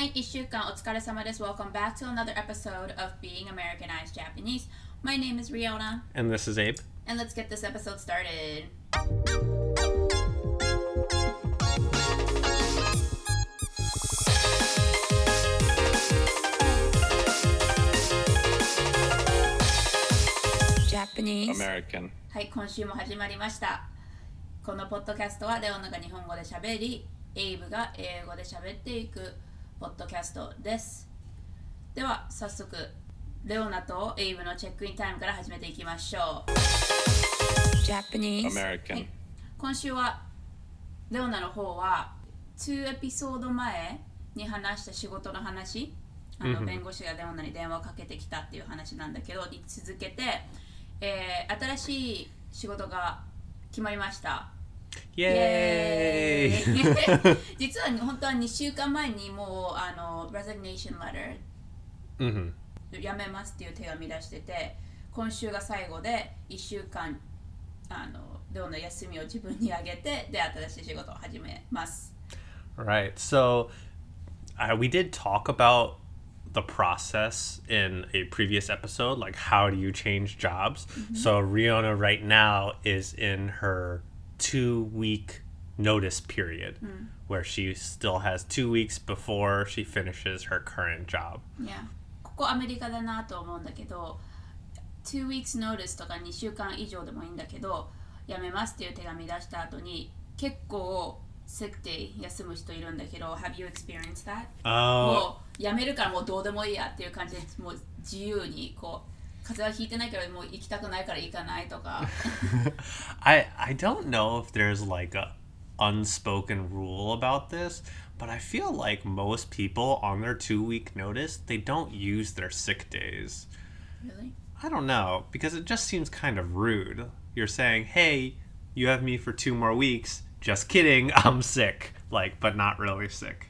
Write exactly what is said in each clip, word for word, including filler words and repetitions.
はい、いっしゅうかんお疲れ様です。Welcome back to another episode of Being Americanized Japanese. My name is Riona. And this is Abe. And let's get this episode started. Japanese. American. はい、今週も始まりました。このポッドキャストはレオナが日本語で喋り、エイブが英語で喋っていくポッドキャストです。では早速レオナとエイブのチェックインタイムから始めていきましょう。 Japanese American、はい、 今週はレオナの方はにエピソード前に話した仕事の話、あの弁護士がレオナに電話をかけてきたっていう話なんだけどに続けて、えー、新しい仕事が決まりました。 イエーイ実は本当はにしゅうかんまえにもうあの resignation letter、うん、辞めますっていう手紙出してて、今週が最後でいっしゅうかんあのどんな休みを自分にあげてで新しい仕事を始めます。 Right, so uh, we did talk about the process in a previous episode, like how do you change jobs. Mm-hmm. So Riona right now is in her two week notice period, mm. where she still has two weeks before she finishes her current job. Yeah. ここアメリカだなと思うんだけど、two weeks notice とかにしゅうかん以上でもいいんだけど、辞めますっていう手紙出した後に結構sick day 休む人いるんだけど、have you experienced that? Oh. もう辞めるからもうどうでもいいやっていう感じでもう自由にこう風邪はひいてないけどもう行きたくないから行かないとか。 I I don't know if there's like a unspoken rule about this, but I feel like most people on their two week notice, they don't use their sick days. Really? I don't know, because it just seems kind of rude. You're saying, hey, you have me for two more weeks. Just kidding, I'm sick. Like, but not really sick.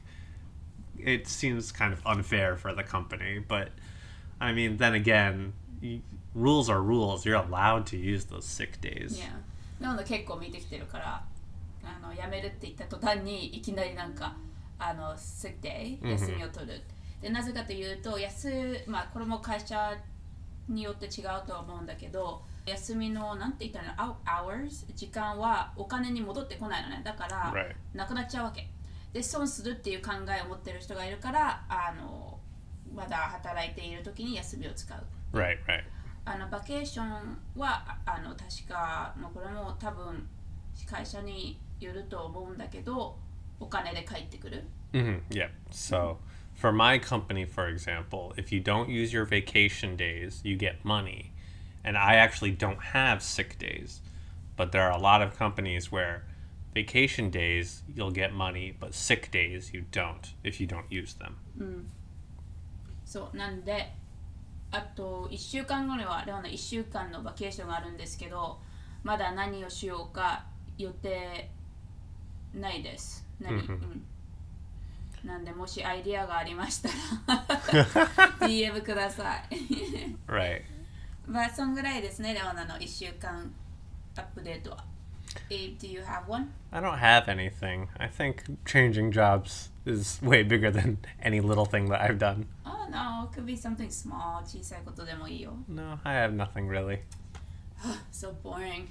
It seems kind of unfair for the company, but I mean, then again, rules are rules. You're allowed to use those sick days. Yeah. なので結構見てきてるから、あの辞めるって言った途端にいきなりなんかあの sick day 休みを取る。Mm-hmm. でなぜかというと休まあこれも会社によって違うとは思うんだけど、休みのなんて言ったらの hours 時間はお金に戻ってこないのね。だから、 right. なくなっちゃうわけ。で損するっていう考えを持ってる人がいるから、あのまだ働いている時に休みを使う。 Right, right. あのバケーションはあの確かもうこれも多分会社によると思うんだけどお金で返ってくる。 Mm-hmm. Yeah. So for my company, for example, if you don't use your vacation days, you get money. And I actually don't have sick days. But there are a lot of companies where vacation days you'll get money, but sick days you don't if you don't use them. うん。そうなんであといっしゅうかんごにはレオナいっしゅうかんのバケーションがあるんですけど、まだ何をしようか予定ないです。何、うん、なんでもしアイディアがありましたらディーエム ください。 Right. まあそんぐらいですね、レオナのいっしゅうかんアップデートは。Abe, do you have one? I don't have anything. I think changing jobs is way bigger than any little thing that I've done. Oh no, it could be something small. 小さいことでもいいよ。 No, I have nothing really. So boring.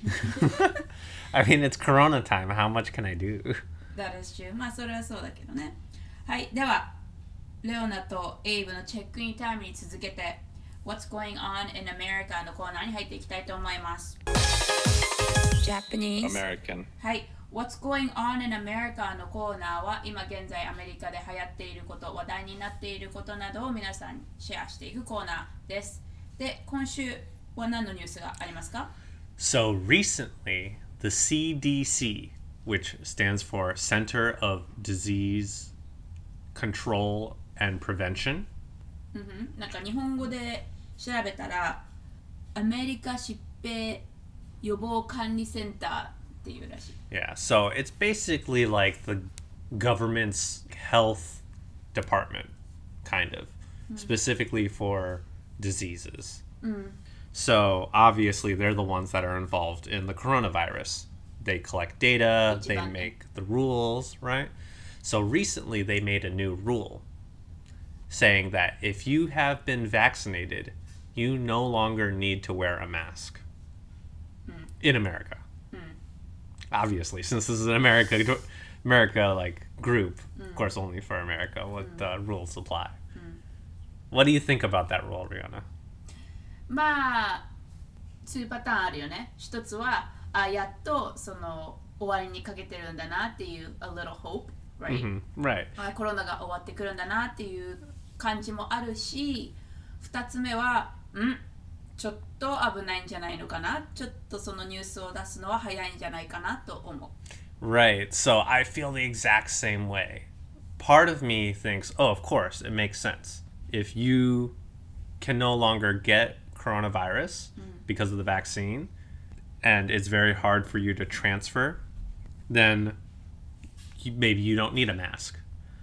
I mean, it's Corona time. How much can I do? That is true. まあそれはそうだけどね。はい、ではレオナとエイブのチェックインタイムに続けて What's going on in America のコーナーに入っていきたいと思います。Japanese American はい、What's going on in America のコーナーは今現在アメリカで流行っていること、話題になっていることなどを皆さんにシェアしていくコーナーです。で、今週は何のニュースがありますか？ So recently, the C D C, which stands for Center of Disease Control and Prevention、 うん、なんか日本語で調べたらアメリカ疾病予防管理センターっていうらしい。 Yeah, so it's basically like the government's health department, kind of, mm. specifically for diseases. Mm. So obviously they're the ones that are involved in the coronavirus. They collect data, they make the rules, right? So recently they made a new rule saying that if you have been vaccinated, you no longer need to wear a mask in America. Obviously, since this is an America, America like group, of course, only for America, what the rules apply. What do you think about that rule, Rihanna? まあにパターンあるよね。一つはあやっとその終わりにかけてるんだなっていう a little hope, right? Mm-hmm. Right. あコロナが終わってくるんだなっていう感じもあるし、二つ目はんちょっと危ないんじゃないのかな、ちょっとそのニュースを出すのは早いんじゃないかなと思う。 Right. So I feel the exact same way. Part of me thinks, oh, of course, it makes sense. If you can no longer get coronavirus because of the vaccine, and it's very hard for you to transfer, then you, maybe you don't need a mask.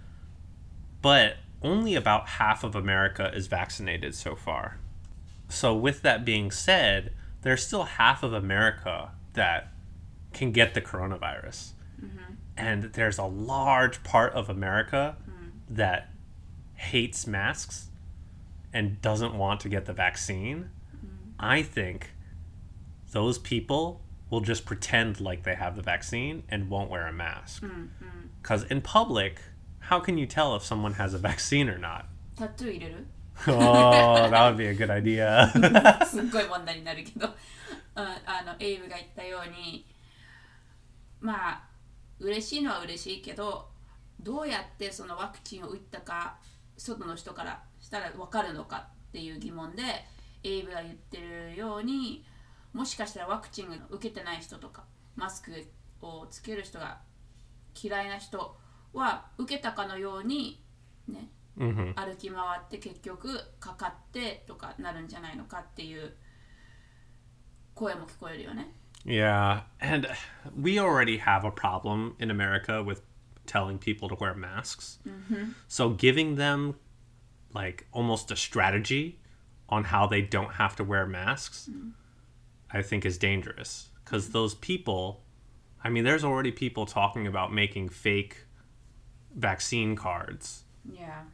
But only about half of America is vaccinated so far. So with that being said, there's still half of America that can get the coronavirus. Mm-hmm. And there's a large part of America mm. that hates masks and doesn't want to get the vaccine. Mm. I think those people will just pretend like they have the vaccine and won't wear a mask. Because mm-hmm. in public, how can you tell if someone has a vaccine or not? Tattoo 入れる? Oh, that would be a good idea. すっごい問題になるけど、あのエイブが言ったように、まあ嬉しいのは嬉しいけど、どうやってそのワクチンを打ったか外の人からしたら分かるのかっていう疑問で、エイブが言ってるように、もしかしたらワクチンを受けてない人とかマスクをつける人が嫌いな人は受けたかのようにね、 mm-hmm. 歩き回って結局かかってとかなるんじゃないのかっていう声も聞こえるよね。 Yeah, and we already have a problem in America with telling people to wear masks. Mm-hmm. So giving them like almost a strategy on how they don't have to wear masks, mm-hmm. I think is dangerous. Because mm-hmm. those people, I mean, there's already people talking about making fake vaccine cards. Yeah.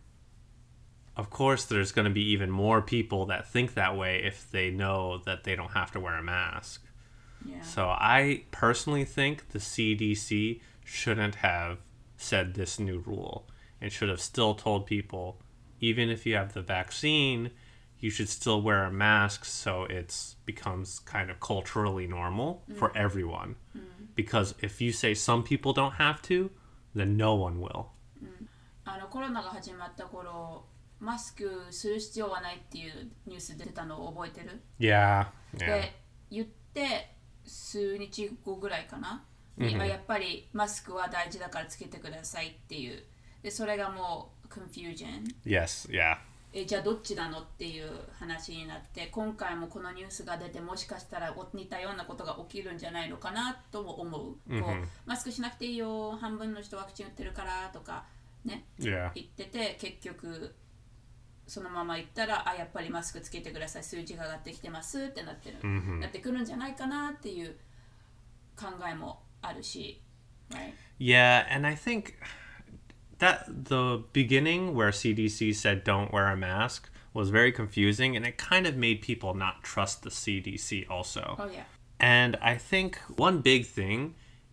Of course, there's going to be even more people that think that way if they know that they don't have to wear a mask. Yeah. So I personally think the C D C shouldn't have said this new rule and should have still told people, even if you have the vaccine, you should still wear a mask so it becomes kind of culturally normal mm. for everyone. Mm. Because if you say some people don't have to, then no one will. あのコロナが始まった頃、マスクする必要はないっていうニュース出たのを覚えてる? Yeah. Yeah. で、言って数日後ぐらいかな、に mm-hmm. やっぱりマスクは大事だからつけてくださいっていう。で、それがもう confusion. Yes, yeah. え、じゃあどっちなのっていう話になって、今回もこのニュースが出てもしかしたら似たようなことが起きるんじゃないのかなとも思う。 Mm-hmm. こうマスクしなくていいよ、半分の人ワクチン打ってるからとかね、 yeah. 言ってて、結局そのまま言ったら、あ、やっぱりマスクつけてください、数字が上がってきてますってなってる、 mm-hmm. なってくるんじゃないかなっていう考えもあるし、right? Yeah, and I think that the beginning where C D C said don't wear a mask was very confusing, and it kind of made people not trust the C D C also. Oh yeah. And I think one big thing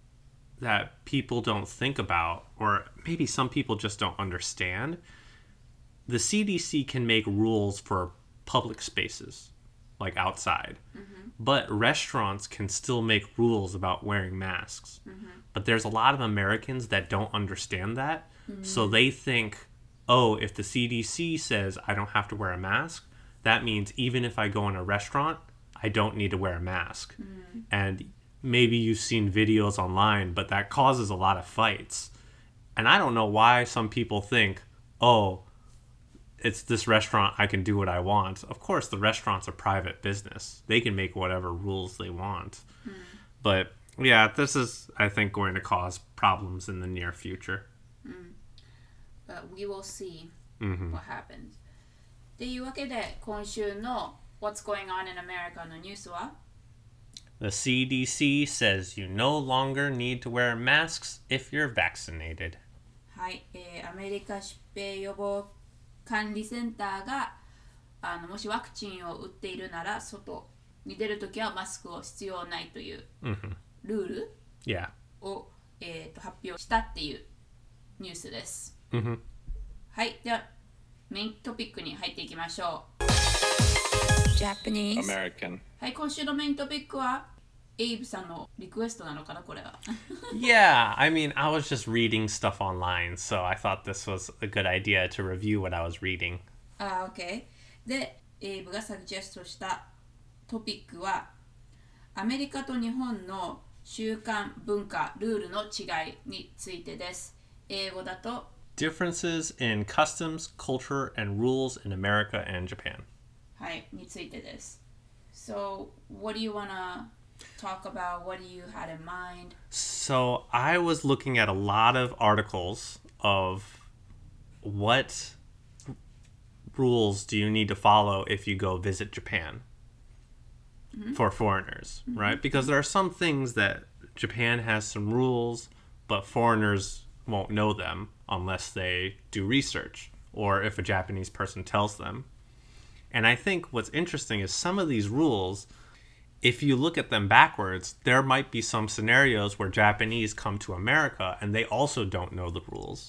that people don't think about, or maybe some people just don't understand, the C D C can make rules for public spaces, like outside. Mm-hmm. But restaurants can still make rules about wearing masks. Mm-hmm. But there's a lot of Americans that don't understand that. Mm-hmm. So they think, oh, if the C D C says I don't have to wear a mask, that means even if I go in a restaurant, I don't need to wear a mask. Mm-hmm. And maybe you've seen videos online, but that causes a lot of fights. And I don't know why some people think, oh, it's this restaurant, I can do what I want. Of course, the restaurant's a private business. They can make whatever rules they want. Mm. But yeah, this is, I think, going to cause problems in the near future. Mm. But we will see mm-hmm. what happens. というわけで、今週の What's Going On in America のニュースは? The C D C says you no longer need to wear masks if you're vaccinated. はい、えー、アメリカ疾病予防管理センターがあのもしワクチンを打っているなら外に出るときはマスクを必要ないというルール Yeah. を、えー、と発表したっていうニュースです。 Mm-hmm. はい、ではメイントピックに入っていきましょう。 Japanese American. はい、今週のメイントピックはエイブさんのリクエストなのかなこれは。 Yeah, I mean, I was just reading stuff online, so I thought this was a good idea to review what I was reading. あー、OK。で、エイブがサジェストしたトピックはアメリカと日本の習慣、文化、ルールの違いについてです。英語だと Differences in customs, culture, and rules in America and Japan. はい、についてです。So, what do you wanna talk about? What do you had in mind? So I was looking at a lot of articles of what rules do you need to follow if you go visit Japan for foreigners, right? Because there are some things that Japan has some rules, but foreigners won't know them unless they do research or if a Japanese person tells them. And I think what's interesting is some of these rules, if you look at them backwards, there might be some scenarios where Japanese come to America and they also don't know the rules.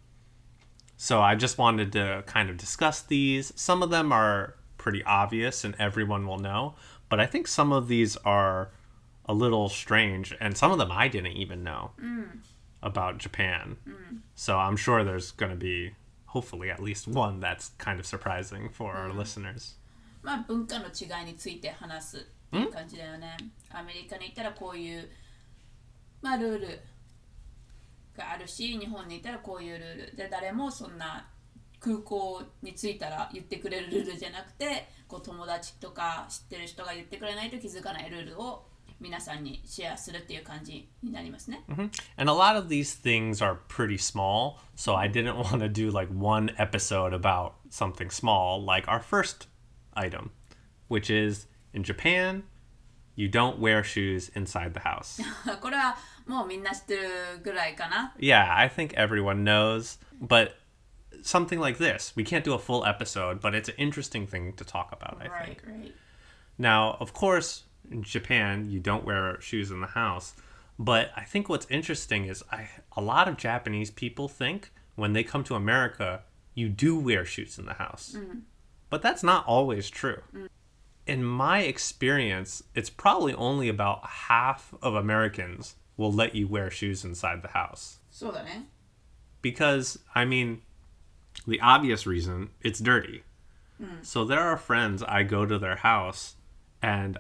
So I just wanted to kind of discuss these. Some of them are pretty obvious and everyone will know, but I think some of these are a little strange and some of them I didn't even know mm. about Japan. Mm. So I'm sure there's going to be hopefully at least one that's kind of surprising for our listeners. まあ文化の違いについて話すっていう感じだよね。アメリカに行ったらこういうまあルールがあるし、日本に行ったらこういうルールで、誰もそんな空港に着いたら言ってくれるルールじゃなくて、こう友達とか知ってる人が言ってくれないと気づかないルールを皆さんにシェアするっていう感じになりますね。 Mm-hmm. And a lot of these things are pretty small, so I didn't want to do like one episode about something small, like our first item, which is in Japan, you don't wear shoes inside the house. これはもうみんな知ってるぐらいかな。 Yeah, I think everyone knows, but something like this, we can't do a full episode, but it's an interesting thing to talk about, I Right, think. right. Now, of course, in Japan, you don't wear shoes in the house. But I think what's interesting is I, a lot of Japanese people think when they come to America, you do wear shoes in the house. Mm. But that's not always true. Mm. In my experience, it's probably only about half of Americans will let you wear shoes inside the house. そうだね。 Because, I mean, the obvious reason, it's dirty. Mm. So there are friends, I go to their house and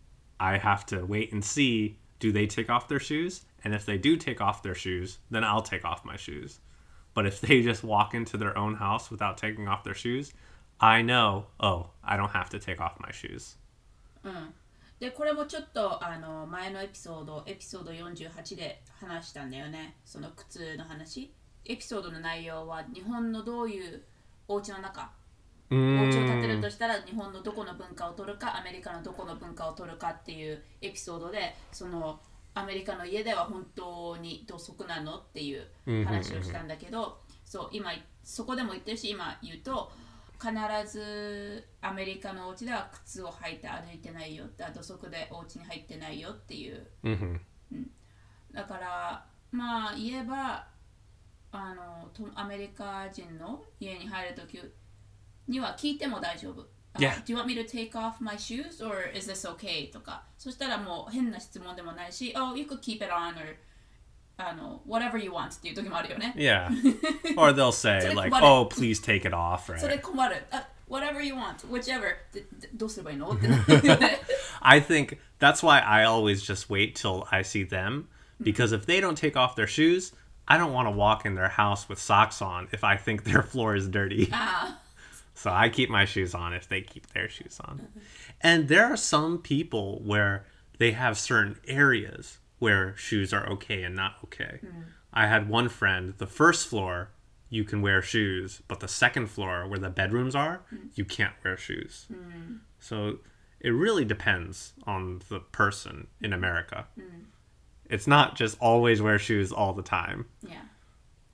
I have to wait and see, do they take off their shoes? And if they do take off their shoes, then I'll take off my shoes. But if they just walk into their own house without taking off their shoes, I know, oh, I don't have to take off my shoes. うん。で、これもちょっとあの前のエピソード、エピソードよんじゅうはちで話したんだよね。その靴の話。エピソードの内容は日本のどういうお家の中、お家を建てるとしたら日本のどこの文化を取るかアメリカのどこの文化を取るかっていうエピソードで、そのアメリカの家では本当に土足なのっていう話をしたんだけど、そう今そこでも言ってるし、今言うと必ずアメリカのお家では靴を履いて歩いてないよって、土足でお家に入ってないよっていう、 Mm-hmm. うん、だからまあ言えばあのとアメリカ人の家に入るときには聞いても大丈夫。 Yeah. Uh, do you want me to take off my shoes or is this okay? とか。そしたらもう変な質問でもないし、Oh, you could keep it on or あの whatever you want っていう時もあるよね。 Yeah. Or they'll say like, oh, please take it off, right? それ困る。あ whatever you want, whichever. ででどうすればいいのってなるよね。 I think that's why I always just wait till I see them. Because if they don't take off their shoes, I don't want to walk in their house with socks on if I think their floor is dirty. あ So I keep my shoes on if they keep their shoes on. And there are some people where they have certain areas where shoes are okay and not okay. I had one friend, the first floor, you can wear shoes, but the second floor where the bedrooms are, you can't wear shoes. So it really depends on the person in America. It's not just always wear shoes all the time. Yeah.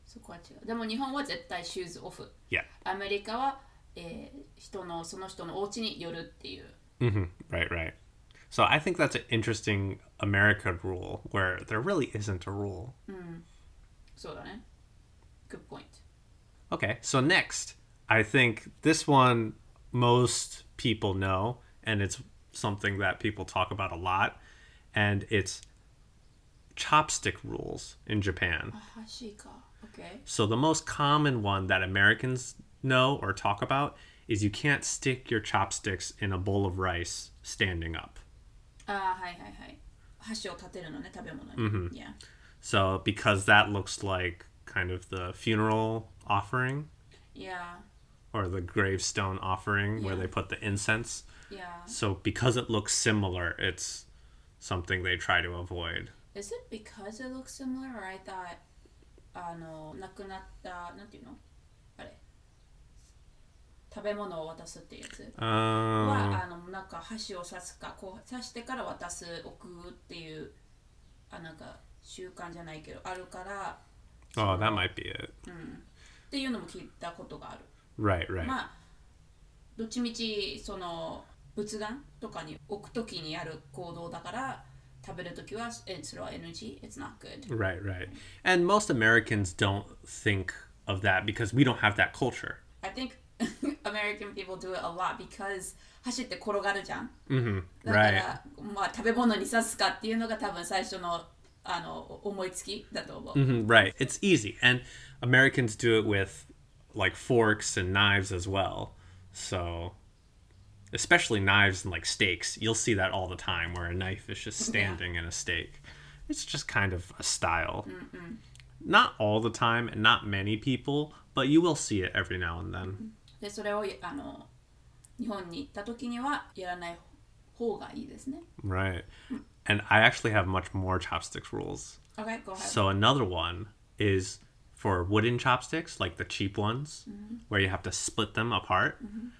そこは違う。でも日本は絶対シューズオフ。 Yeah. アメリカは、えー、人のその人のお家によるっていう。 Mm-hmm. Right, right. So I think that's an interesting America rule where there really isn't a rule. そうだね。Good point. Okay, so next, I think this one most people know, and it's something that people talk about a lot, and it's chopstick rules in Japan. あ、箸か。Okay. So the most common one that Americans know or talk about is you can't stick your chopsticks in a bowl of rice standing up. あ、はいはいはい。箸を立てるのね、食べ物に。Yeah. So because that looks like kind of the funeral offering Yeah. or the gravestone offering where Yeah. they put the incense. Yeah. So because it looks similar, it's something they try to avoid. Is it because it looks similar or I thought あの亡くなったなんていうのあれ食べ物を渡すっていうやつ Uh, はあのなんか箸を刺すかこう刺してから渡す置くっていうあなんか習慣じゃないけどあるから oh, that might be it. っていうのも聞いたことがある。 Right, right. まあどっちみちその仏壇とかに置くときにやる行動だから食べるときはえそれは エヌジー It's not good. Right, right. And most Americans don't think of that because we don't have that culture. I think American people do it a lot because 走って転がるじゃん。 Mm-hmm. だか Right. ら、まあ、食べ物に刺すかっていうのが多分最初のあの思いつきだと思う。 Mhm, right. It's easy. And Americans do it with like forks and knives as well. So, especially knives and like steaks, you'll see that all the time where a knife is just standing in a steak. It's just kind of a style. Not all the time and not many people, but you will see it every now and then. で、それをあの日本に行った時にはやらない方がいいですね。 Right. And I actually have much more chopsticks rules. Okay, go ahead. So another one is for wooden chopsticks, like the cheap ones, where you have to split them apart.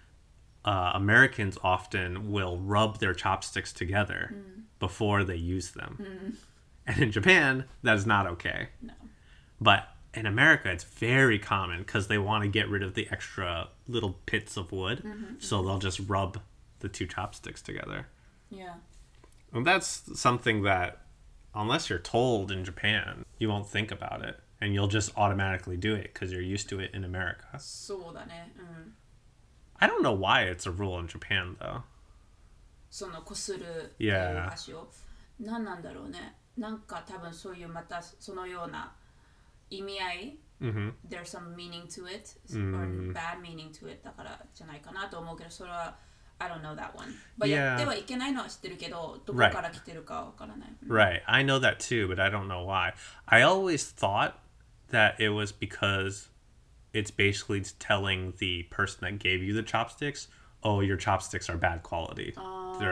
Uh, Americans often will rub their chopsticks together before they use them. And in Japan, that is not okay. No. But in America, it's very common because they want to get rid of the extra little bits of wood. So they'll just rub the two chopsticks together. Yeah. And that's something that, unless you're told in Japan, you won't think about it. And you'll just automatically do it because you're used to it in America. そうだね。うん。 I don't know why it's a rule in Japan, though. そのこするっていう Yeah. 箸を。何なんだろうね。なんか多分そういうまたそのような意味合い Mm-hmm. There's some meaning to it or bad meaning to it だからじゃないかなと思うけどそれは I don't know that one. But Yeah. やってはいけないのは知ってるけどどこから来てるかわからない。 Right. I know that too, but I don't know why. I always thought that it was because it's basically telling the person that gave you the chopsticks, oh, your chopsticks are bad quality. They're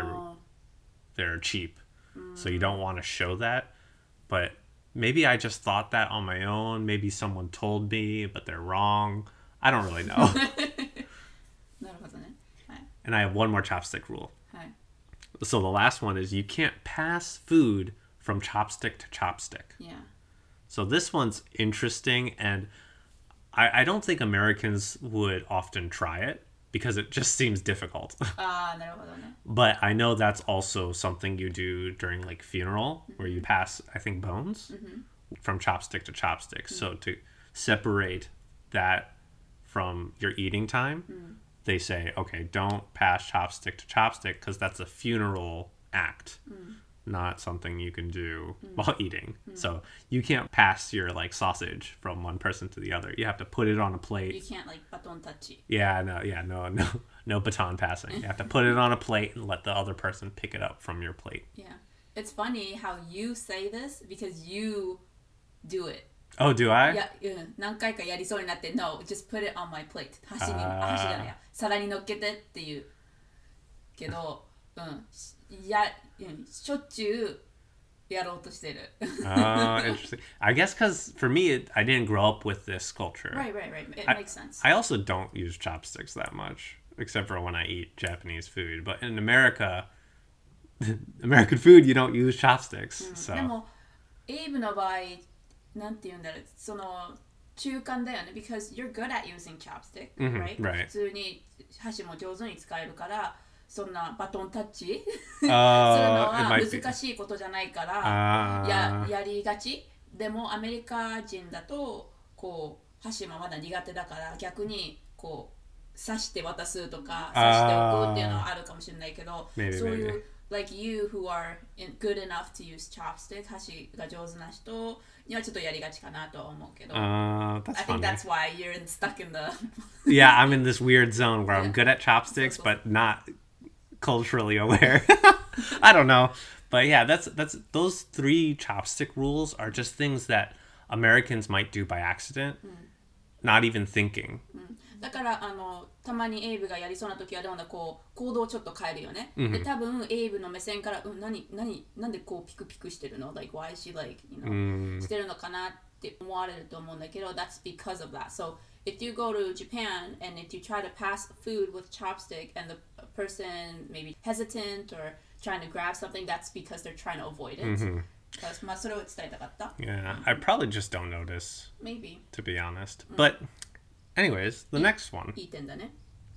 they're cheap. So you don't want to show that. But maybe I just thought that on my own. Maybe someone told me, but they're wrong. I don't really know. なるほどね。はい。 And I have one more chopstick rule. はい。 So the last one is you can't pass food from chopstick to chopstick. Yeah. So this one's interesting, and I, I don't think Americans would often try it because it just seems difficult. ああ、なるほどね。 But I know that's also something you do during like funeral, where you pass, I think, bones from chopstick to chopstick. So to separate that from your eating time, they say, okay, don't pass chopstick to chopstick because that's a funeral act. Not something you can do while eating. So you can't pass your like sausage from one person to the other. You have to put it on a You plate. can't like バトンタッチ。 Yeah, no, yeah, no, no, no baton passing. You have to put it on a plate and let the other person pick it up from your plate. Yeah. It's funny how you say this because you do it. Oh, do I? いや、うん、何回かやりそうになって No, just put it on my plate 箸に、 あー箸じゃないや皿に乗っけてっていうけど、うん、や、うん、しょっちゅうやろうとしてる Oh, interesting. I guess because for me, it, I didn't grow up with this culture. Right, right, right. It I, makes sense. I also don't use chopsticks that much, except for when I eat Japanese food. But in America, American food, you don't use chopsticks. で So もエイブの場合なんて言うんだろうその中間だよね because you're good at using chopstick, Mhm, right? right. 普通に箸も上手に使えるからそんなバトンタッチ Uh, するの it は might be. 難しいことじゃないから Ah. や, やりがちでもアメリカ人だとこう箸もまだ苦手だから逆にこう刺して渡すとか刺しておくっていうのはあるかもしれないけど Maybe, そういう maybe. like you who are in, good enough to use chopstick 箸が上手な人にはちょっとやりがちかなとは思うけど Uh, that's I think funny. that's why you're in, stuck in the Yeah, I'm in this weird zone where I'm Yeah. good at chopsticks, So, so, but not culturally aware. I don't know. But yeah, that's that's those three chopstick rules are just things that Americans might do by accident, not even thinking. だからあのたまにエイブがやりそうな時はでもこう行動をちょっと変えるよね、 うんで多分エイブの目線から、うん、何何なんでこうピクピクしてるの like why is she like you know、 うんしてるのかなって思われると思うんだけど that's because of that so if you go to Japan and if you try to pass food with chopstick and the person maybe hesitant or trying to grab something that's because they're trying to avoid it、まあそれを伝えたかった Yeah, I probably just don't notice, maybe to be honest. But anyways, the next one. いい点だね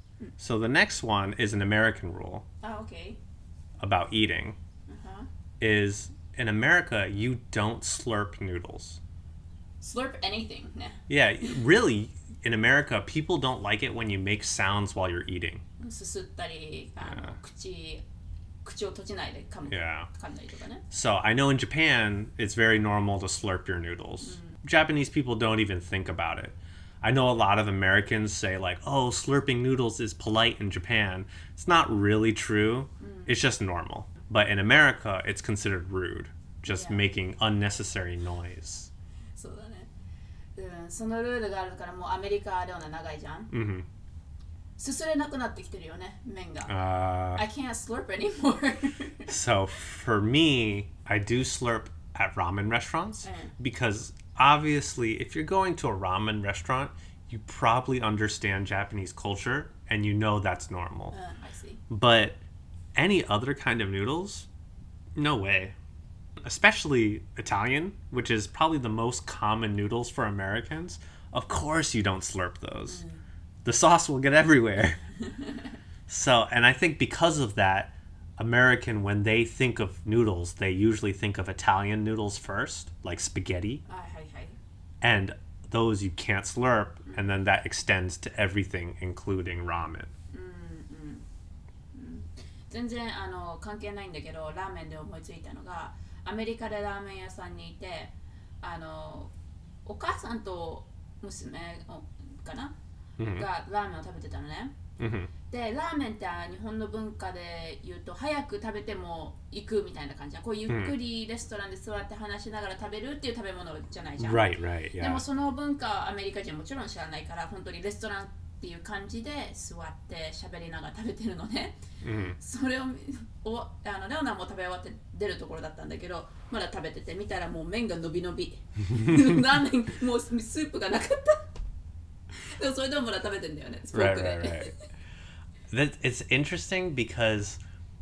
So the next one is an American rule あ OK about eating. Uh-huh. Is in America you don't slurp noodles. slurp anything ね Yeah, really, in America, people don't like it when you make sounds while you're eating. すすったりあの、 Yeah. 口口を閉じないで噛む、 Yeah. 噛んだりとかね So I know in Japan, it's very normal to slurp your noodles. Japanese people don't even think about it. I know a lot of Americans say, like, oh, slurping noodles is polite in Japan. It's not really true. It's just normal. But in America, it's considered rude, just Yeah. making unnecessary noise. そうだね、うん、そのルールがあるからもうアメリカでは長いじゃん hmm すすれなくなってきてるよね麺が、 Uh, I can't slurp anymore So for me, I do slurp at ramen restaurants Mm. because obviously, if you're going to a ramen restaurant, you probably understand Japanese culture and you know that's normal. うん、I see But any other kind of noodles, no way. Especially Italian, which is probably the most common noodles for Americans. Of course, you don't slurp those. The sauce will get everywhere. So, and I think because of that, American, when they think of noodles, they usually think of Italian noodles first, like spaghetti, はいはいはい and those you can't slurp, and then that extends to everything, including ramen. 全然あの関係ないんだけどラーメンで思いついたのがアメリカでラーメン屋さんにいてあのお母さんと娘かな、がラーメンを食べてたのね hmm でラーメンって日本の文化で言うと早く食べても行くみたいな感じじゃんこうゆっくりレストランで座って話しながら食べるっていう食べ物じゃないじゃん、 Right, right, で yeah. もその文化はアメリカ人もちろん知らないから本当にレストランっていう感じで座って喋りながら食べてるのね hmm それをおあのレオナも食べ終わって出るところだったんだけどまだ食べてて見たらもう麺が伸び伸びラーメンもうスープがなかったでもそれでもまだ食べてんだよねスポー Right, ク right, で right. That it's interesting because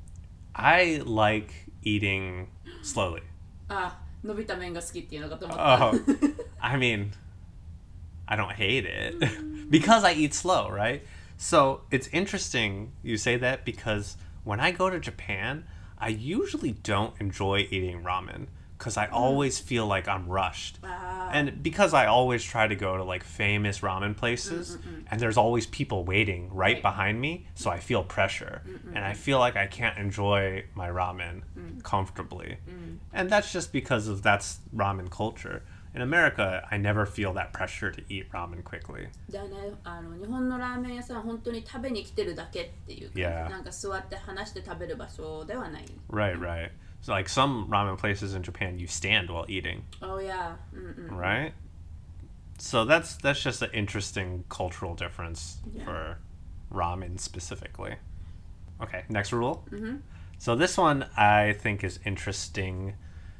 I like eating slowly. あ伸びた麺が好きっていうのかと思った、 Oh, I mean, I don't hate it because I eat slow, right? So it's interesting you say that because when I go to Japan, I usually don't enjoy eating ramen because I always feel like I'm rushed. あ And because I always try to go to like famous ramen places and there's always people waiting right Right. behind me, so I feel pressure and I feel like I can't enjoy my ramen comfortably. And that's just because of that's ramen culture. In America, I never feel that pressure to eat ramen quickly. だね、あの日本のラーメン屋さんは本当に食べに来てるだけっていう感じ、 Yeah. なんか座って話して食べる場所ではない。 Right, right. So like some ramen places in Japan, you stand while eating, Oh yeah. うんうん。 right? So that's that's just an interesting cultural difference Yeah. for ramen specifically. Okay, next rule. Mhm. So this one I think is interesting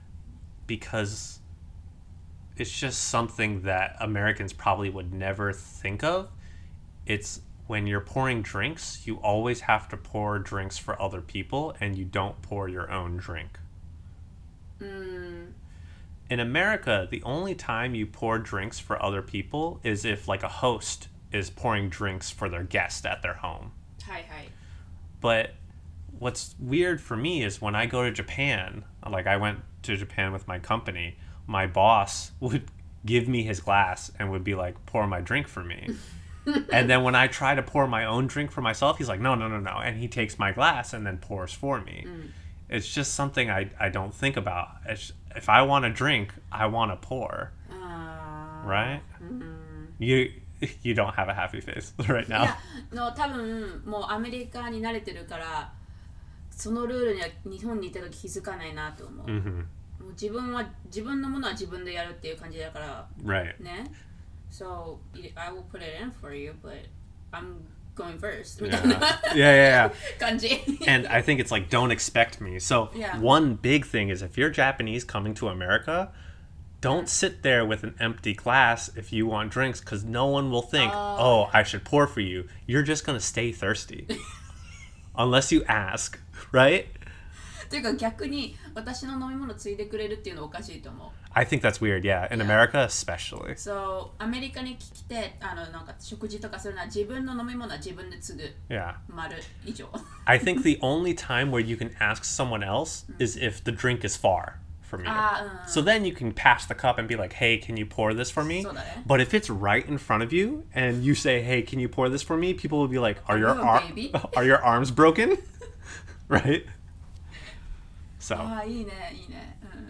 because it's just something that Americans probably would never think of. It's when you're pouring drinks, you always have to pour drinks for other people and you don't pour your own drink. うん。 in America, the only time you pour drinks for other people is if like a host is pouring drinks for their guest at their home. はいはい。 But what's weird for me is when I go to Japan, like I went to Japan with my company, my boss would give me his glass and would be like, pour my drink for me. And then when I try to pour my own drink for myself, he's like, no, no, no, no. And he takes my glass and then pours for me. Mm. It's just something I, I don't think about. It's, if I want to drink, I want to pour. Uh, Right? Mm. You you don't have a happy face right い now. やの多分もうアメリカに慣れてるからそのルールには日本にいた時気づかないなと思う。 Mm-hmm. もう自分は自分のものは自分でやるっていう感じだから Right. ね。So I will put it in for you, but I'm going first みたいな Yeah, yeah, yeah. 感じ。 And I think it's like, don't expect me. So Yeah. one big thing is if you're Japanese coming to America, don't sit there with an empty glass if you want drinks because no one will think, Oh, oh, I should pour for you. You're just going to stay thirsty. Unless you ask, right? というか逆に私の飲み物ついでくれるっていうのおかしいと思う。 I think that's weird, yeah. In Yeah. America, especially. So アメリカに来てあのなんか食事とかするのは自分の飲み物は自分で継ぐ Yeah. 丸以上。 I think the only time where you can ask someone else is if the drink is far from you. ああ、うん。 So then you can pass the cup and be like, hey, can you pour this for me? そうだね。 But if it's right in front of you and you say, hey, can you pour this for me? People will be like, are your, Are you a ar- baby? are your arms broken? Right? So, ああいいねいいね、うんうん、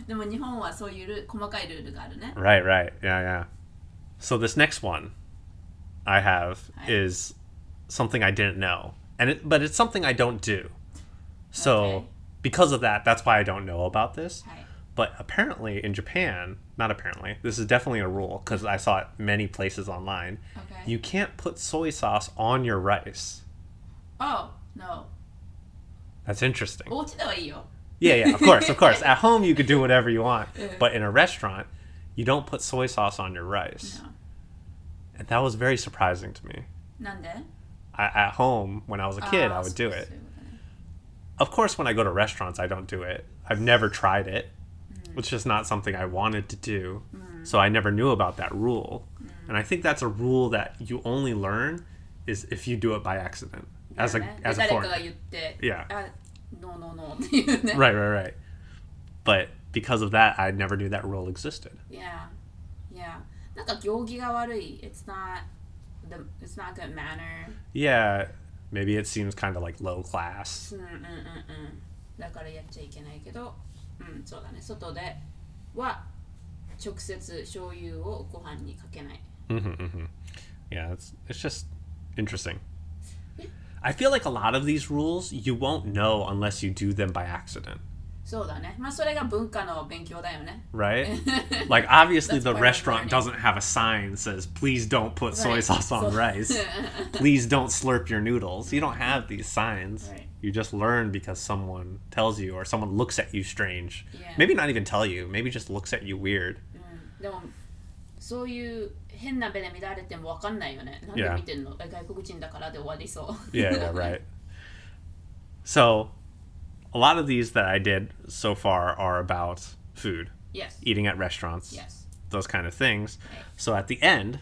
でも日本はそういうル細かいルールがあるね。 right, right. Yeah, yeah. So this next one I have Hi. is something I didn't know. And it, but it's something I don't do. So Okay. because of that, that's why I don't know about this. はい。 But apparently in Japan, not apparently, this is definitely a rule because I saw it many places online. Okay. You can't put soy sauce on your rice. Oh, no. That's interesting. お家ではいいよ。 Yeah, yeah, of course, of course. At home, you could do whatever you want. Yeah. But in a restaurant, you don't put soy sauce on your rice. No. And that was very surprising to me. なんで I, at home, when I was a kid, あー I would do そう it. そういうことね Of course, when I go to restaurants, I don't do it. I've never tried it. Mm. It's just not something I wanted to do. So I never knew about that rule. Mm. And I think that's a rule that you only learn is if you do it by accident. As a だよね as で a 誰かが foreigner. 言って Yeah. あ、ノーノーノーっていうね。 Right, right, right. But because of that, I never knew that rule existed. Yeah, yeah. なんか行儀が悪い。It's not the it's not good manner. Yeah, maybe it seems kind of like low class. うんうんうんうん。だからやっちゃいけないけど、うんそうだね。外では直接醤油をご飯にかけない。 hmm hmm Yeah, it's it's just interesting. I feel like a lot of these rules you won't know unless you do them by accident, そうだね。まあそれが文化の勉強だよね。 right? Like obviously That's the part of restaurant learning. doesn't have a sign that says please don't put soy Right. sauce on So- rice. Please don't slurp your noodles. You don't have these signs. Right. You just learn because someone tells you or someone looks at you strange. Yeah. Maybe not even tell you. Maybe just looks at you weird. うんでもそういう変な目で見られてもわかんないよね。なんで Yeah. 見てんの？外国人だからで終わりそう。 Yeah, yeah, right. So, a lot of these that I did so far are about food, Yes. eating at restaurants, Yes. those kind of things. Right. So at the end,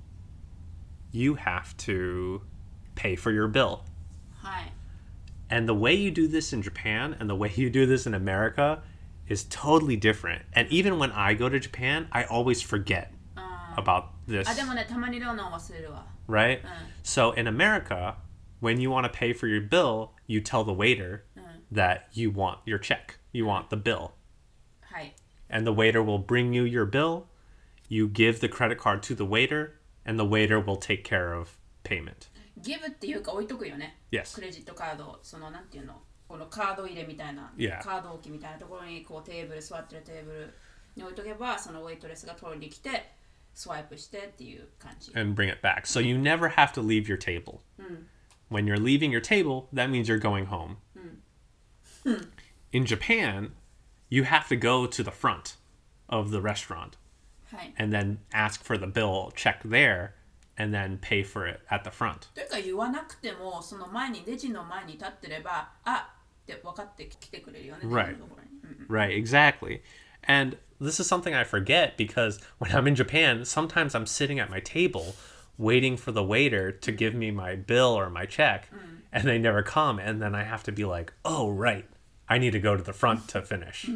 you have to pay for your bill. はい。 And the way you do this in Japan and the way you do this in America is totally different. And even when I go to Japan, I always forget あ about this, あでもね、たまにローナ忘れるわ。 right? うん So in America, when you want to pay for your bill, you tell the waiter that you want your check. You want the bill. はい。 And the waiter will bring you your bill. You give the credit card to the waiter, and the waiter will take care of payment. ギブっていうか置いとくよね。 Yes. クレジットカード、そのなんていうの、このカード入れみたいな、 Yeah. カード置きみたいなところにこうテーブル、座ってるテーブルに置いとけば、そのウェイトレスが取りに来て、スワイプしてっていう感じ。 And bring it back. So you never have to leave your table. When you're leaving your table, that means you're going home. In Japan, you have to go to the front of the restaurant はい。 and then ask for the bill, check there, and then pay for it at the front. というか言わなくても、その前にレジの前に立ってれば、あって分かってきてくれるよね。 Right. レジのところにうん Right, exactly. And this is something I forget because when I'm in Japan, sometimes I'm sitting at my table waiting for the waiter to give me my bill or my check, mm. and they never come. And then I have to be like, oh, right, I need to go to the front to finish.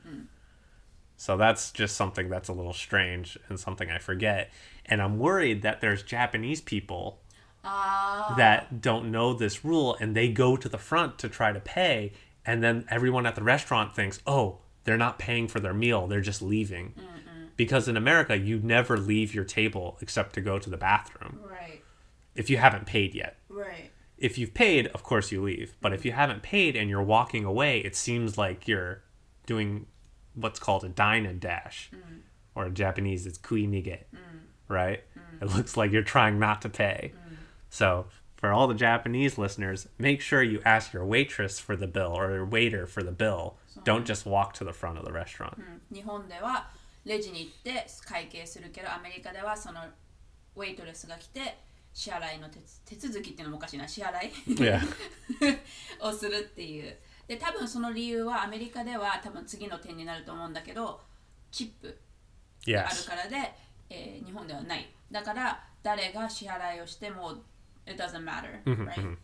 So that's just something that's a little strange and something I forget. And I'm worried that there's Japanese people uh. that don't know this rule, and they go to the front to try to pay. And then everyone at the restaurant thinks, oh, they're not paying for their meal. They're just leaving. Mm-mm. Because in America, you never leave your table except to go to the bathroom. Right. If you haven't paid yet. Right. If you've paid, of course you leave. But if you haven't paid and you're walking away, it seems like you're doing what's called a dine and dash. Mm. Or in Japanese, it's kuinige. Mm. Right? Mm. It looks like you're trying not to pay. Mm. So for all the Japanese listeners, make sure you ask your waitress for the bill or your waiter for the bill. Don't just walk to the front of the restaurant. 日本ではレジに行って会計するけど、アメリカではそのウェイトレスが来て支払いの手手続きっていうのもおかしいな、支払い Yeah. をするっていう。で、多分その理由はアメリカでは多分次の点になると思うんだけど、チップがあるからで、えー、日本ではない。だから誰が支払いをしても it doesn't matter, right?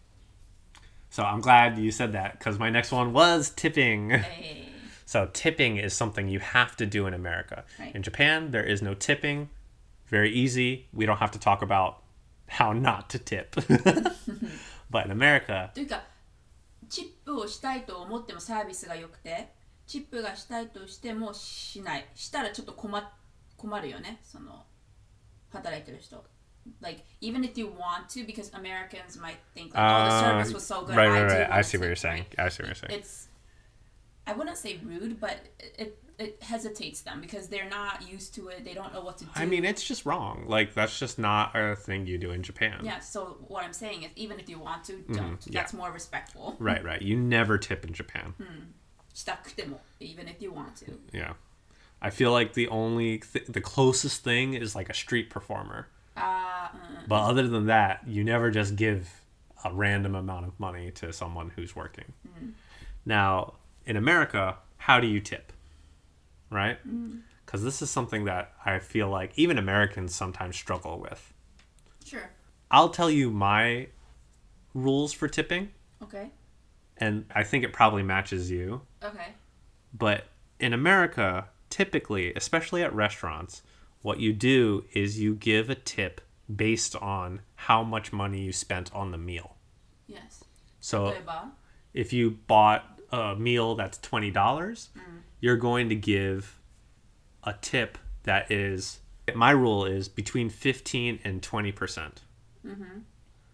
So I'm glad you said that because my next one was tipping. Hey. So tipping is something you have to do in America. Right. In Japan, there is no tipping. Very easy. We don't have to talk about how not to tip. But in America... というか、チップをしたいと思ってもサービスが良くて、チップがしたいとしてもしない。したらちょっと困、困るよね。その働いてる人。Like, even if you want to, because Americans might think, like, oh, the service was so good. Right, right, I right. I see what tip, you're saying. Right? I see what you're saying. It's, I wouldn't say rude, but it, it hesitates them because they're not used to it. They don't know what to do. I mean, it's just wrong. Like, that's just not a thing you do in Japan. Yeah, so what I'm saying is, even if you want to, don't. Mm, yeah. That's more respectful. Right, right. You never tip in Japan. Hmm. したくても, even if you want to. Yeah. I feel like the only, th- the closest thing is like a street performer. Uh, mm, but other than that, you never just give a random amount of money to someone who's working. Mm. Now, in America, how do you tip? Right? Because mm. this is something that I feel like even Americans sometimes struggle with. Sure. I'll tell you my rules for tipping. Okay. And I think it probably matches you. Okay. But in America, typically, especially at restaurants, what you do is you give a tip based on how much money you spent on the meal. Yes. So if you bought a meal that's twenty dollars, mm. you're going to give a tip that is, my rule is between fifteen and twenty percent. Mm-hmm.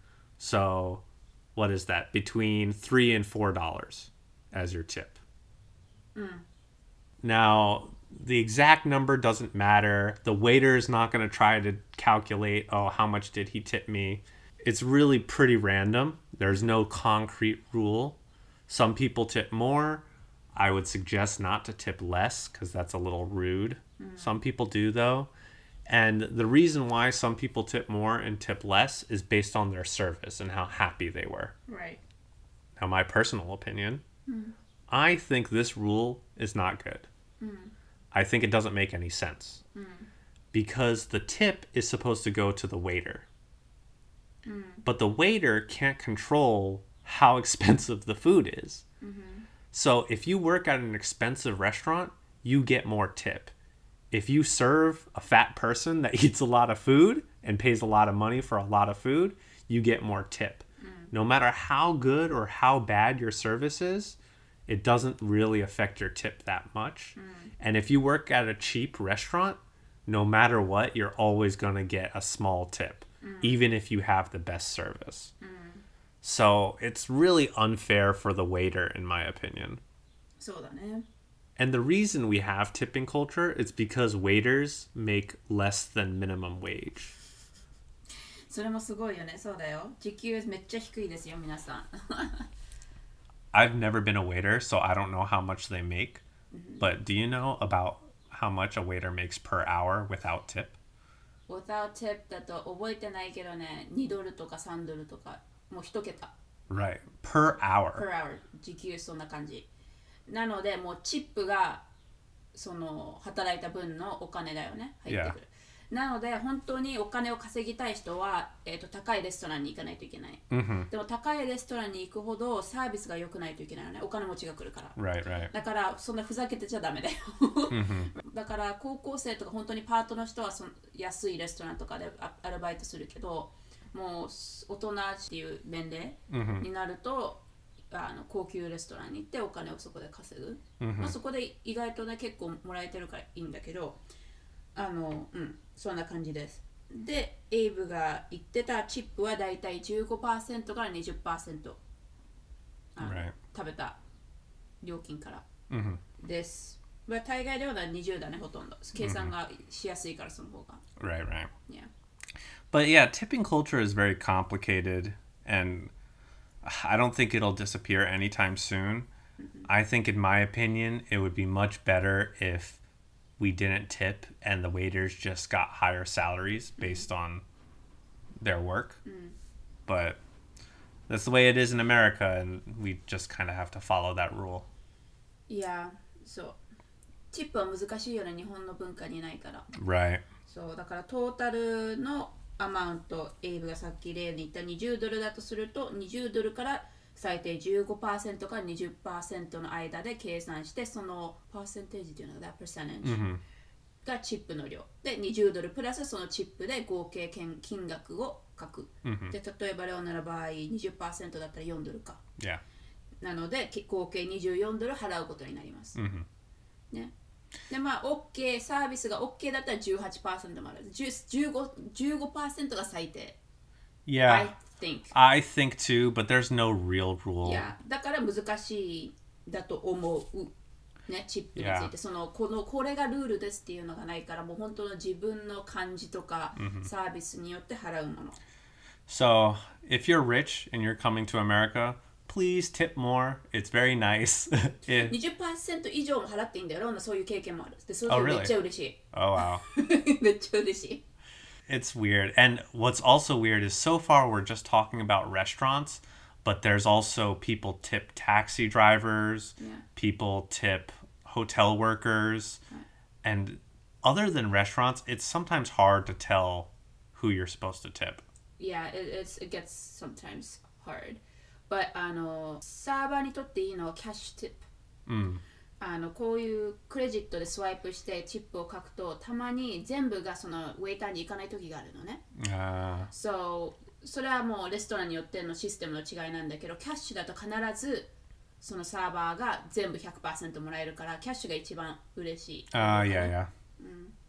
So what is that? Between three and four dollars as your tip. Mm. Now, the exact number doesn't matter. The waiter is not going to try to calculate, oh, how much did he tip me? It's really pretty random. There's no concrete rule. Some people tip more. I would suggest not to tip less because that's a little rude. Mm. Some people do, though. And the reason why some people tip more and tip less is based on their service and how happy they were. Right. Now, my personal opinion, mm. I think this rule is not good. Mm. I think it doesn't make any sense. Mm. Because the tip is supposed to go to the waiter. Mm. But the waiter can't control how expensive the food is. Mm-hmm. So if you work at an expensive restaurant, you get more tip. If you serve a fat person that eats a lot of food and pays a lot of money for a lot of food, you get more tip. Mm. No matter how good or how bad your service is, it doesn't really affect your tip that much. Mm. And if you work at a cheap restaurant, no matter what, you're always going to get a small tip, mm. even if you have the best service. Mm. So it's really unfair for the waiter, in my opinion. そうだね. And the reason we have tipping culture is because waiters make less than minimum wage. それもすごいよね。そうだよ。時給めっちゃ低いですよ、皆さん。 I've never been a waiter, so I don't know how much they make. Mm-hmm. But do you know about how much a waiter makes per hour without tip? Without tip だと覚えてないけどね、にドルとかさんドルとか、もう一桁。 Right. Per hour. Per hour. 時給そんな感じ。なので、もうチップがその働いた分のお金だよね、入ってくる。Yeah. なので本当にお金を稼ぎたい人は、えーと、高いレストランに行かないといけない。 Mm-hmm. でも高いレストランに行くほどサービスが良くないといけないよね。お金持ちが来るから。 Right, right. だからそんなふざけてちゃダメだよ。 mm-hmm. だから高校生とか本当にパートの人はその安いレストランとかでアルバイトするけど、もう大人っていう年齢になると、あの高級レストランに行ってお金をそこで稼ぐ、 mm-hmm. まあ、そこで意外とね結構もらえてるからいいんだけど、あのうんそんな感じです。でエイブが言ってたチップはだいたい じゅうごパーセント から にじゅっパーセント right. 食べた料金から、 mm-hmm. です。まあ、大概ではにじゅうだね、ほとんど計算がしやすいからその方が、 right, right. Yeah. But yeah, tipping culture is very complicated, and I don't think it'll disappear anytime soon. Mm-hmm. I think, in my opinion, it would be much better if we didn't tip and the waiters just got higher salaries based mm-hmm. on their work. Mm. But that's the way it is in America, and we just kind of have to follow that rule. Yeah, so チップは難しいよね、日本の文化にないから。 Right. そうだからトータルのアマウント、エイブがさっき例に言ったにじゅうドルだとするとにじゅうドルから最低 じゅうごパーセント から にじゅっパーセント の間で計算して、そのパーセンテージっていうのが that percentage、mm-hmm. がチップの量でにじゅうドルプラスそのチップで合計金額を書く、mm-hmm. で例えばレオナの場合 にじゅっパーセント だったらよんドルか、 yeah. なので合計にじゅうよんドル払うことになります、 mm-hmm. ね。でまあ OK サービスが OK だったら じゅうはちパーセント もある。じゅうご、じゅうごパーセント が最低。 Yeah. I think. I think too, but there's no real rule. Yeah. だから難しいだと思う。ね、チップについて、 Yeah. そのこのこれがルールですっていうのがないから、もう本当の自分の感じとか、mm-hmm. サービスによって払うもの。 So, if you're rich and you're coming to America,Please tip more. It's very nice. にじゅっパーセント 以上も払っていいんだよ。そういう経験もある。で、それめっちゃ嬉しい。 Oh, wow. めっちゃ嬉しい。 It's weird. And what's also weird is so far we're just talking about restaurants, but there's also people tip taxi drivers, yeah. people tip hotel workers, right. and other than restaurants, it's sometimes hard to tell who you're supposed to tip. Yeah, it, it's, it gets sometimes hard.But あのサーバーにとっていいのはキャッシュティップ、 うん、 あのこういうクレジットでスワイプしてチップを書くとたまに全部がそのウェイターに行かない時があるのね。 ああ。 So それはもうレストランによってのシステムの違いなんだけど、キャッシュだと必ずそのサーバーが全部 ひゃくパーセント もらえるからキャッシュが一番嬉しい。 ああ、いやいや。 うん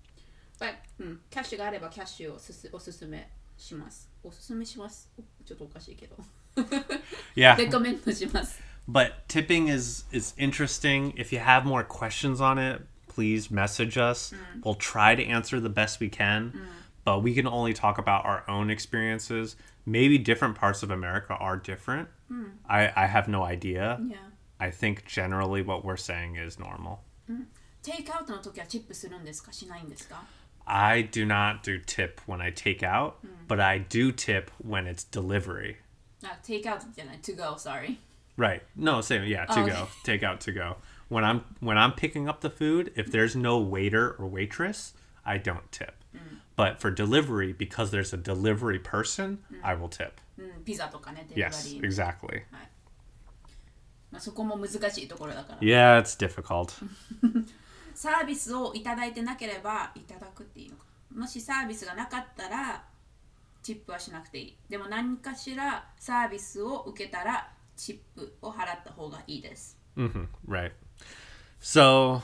。But うん、キャッシュがあればキャッシュをすすおすすめします。おすすめします。ちょっとおかしいけど。 Yeah. Recommend します。 But tipping is is interesting. If you have more questions on it, please message us. Mm. We'll try to answer the best we can, mm. but we can only talk about our own experiences. Maybe different parts of America are different. Mm. I, I have no idea. Yeah. I think generally what we're saying is normal. Mm. Take out の時はチップするんですか？しないんですか？ I do not do tip when I take out, mm. but I do tip when it's delivery. Uh, take out じゃない to go, sorry. Right. No, same. Yeah, to oh, go. Okay. Take out to go. When I'm when I'm picking up the food, if there's no waiter or waitress, I don't tip. Mm. But for delivery, because there's a delivery person, mm. I will tip. Mm, ピザとかね、 Yes, exactly. はい。まあ、そこも難しいところだから。 Yeah, it's difficult. サービスをいただいてなければいただくっていいのか。もしサービスがなかったらチップはしなくていい。でも何かしらサービスを受けたらチップを払った方がいいです。 Mm-hmm. Right. So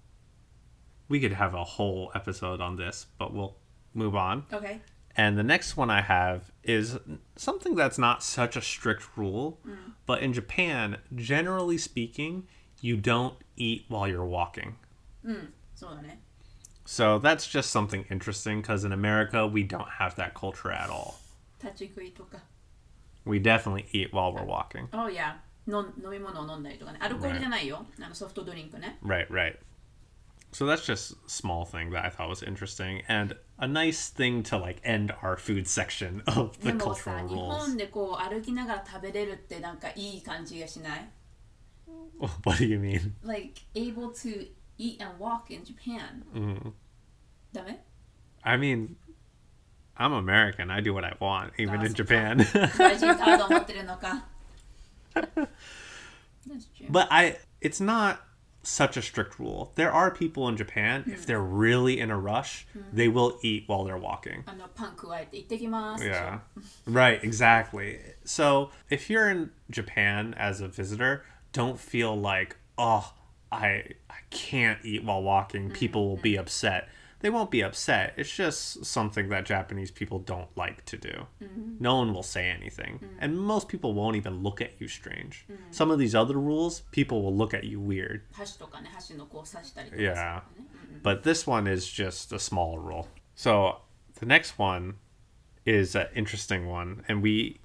we could have a whole episode on this, but we'll move on. Okay. And the next one I have is something that's not such a strict rule, mm. but in Japan, generally speaking, you don't eat while you're walking. Mm. そうだね。 So that's just something interesting because in America, we don't have that culture at all. 立ち食いとか。 We definitely eat while we're walking. Oh yeah. の飲み物を飲んだりとかね。アルコールじゃないよ。あのソフトドリンクね。 Right, right. So that's just a small thing that I thought was interesting and a nice thing to like end our food section of the cultural rules. 日本でこう歩きながら食べれるってなんかいい感じがしない？ What do you mean? Like able to eat and walk in Japan. Mm. ダメ I mean, I'm American. I do what I want, even in あ、そっか。 Japan. 外人カード持ってるのか。That's true. But I, it's not such a strict rule. There are people in Japan, if they're really in a rush, they will eat while they're walking. あのパン加えて行ってきます。 Yeah. Right, exactly. So if you're in Japan as a visitor, don't feel like, oh, I I can't eat while walking. People will be upset. They won't be upset. It's just something that Japanese people don't like to do. No one will say anything. And most people won't even look at you strange. Some of these other rules, people will look at you weird. 箸とかね、箸のこう刺したりとか。 Yeah. But this one is just a small rule. So the next one is an interesting one. And we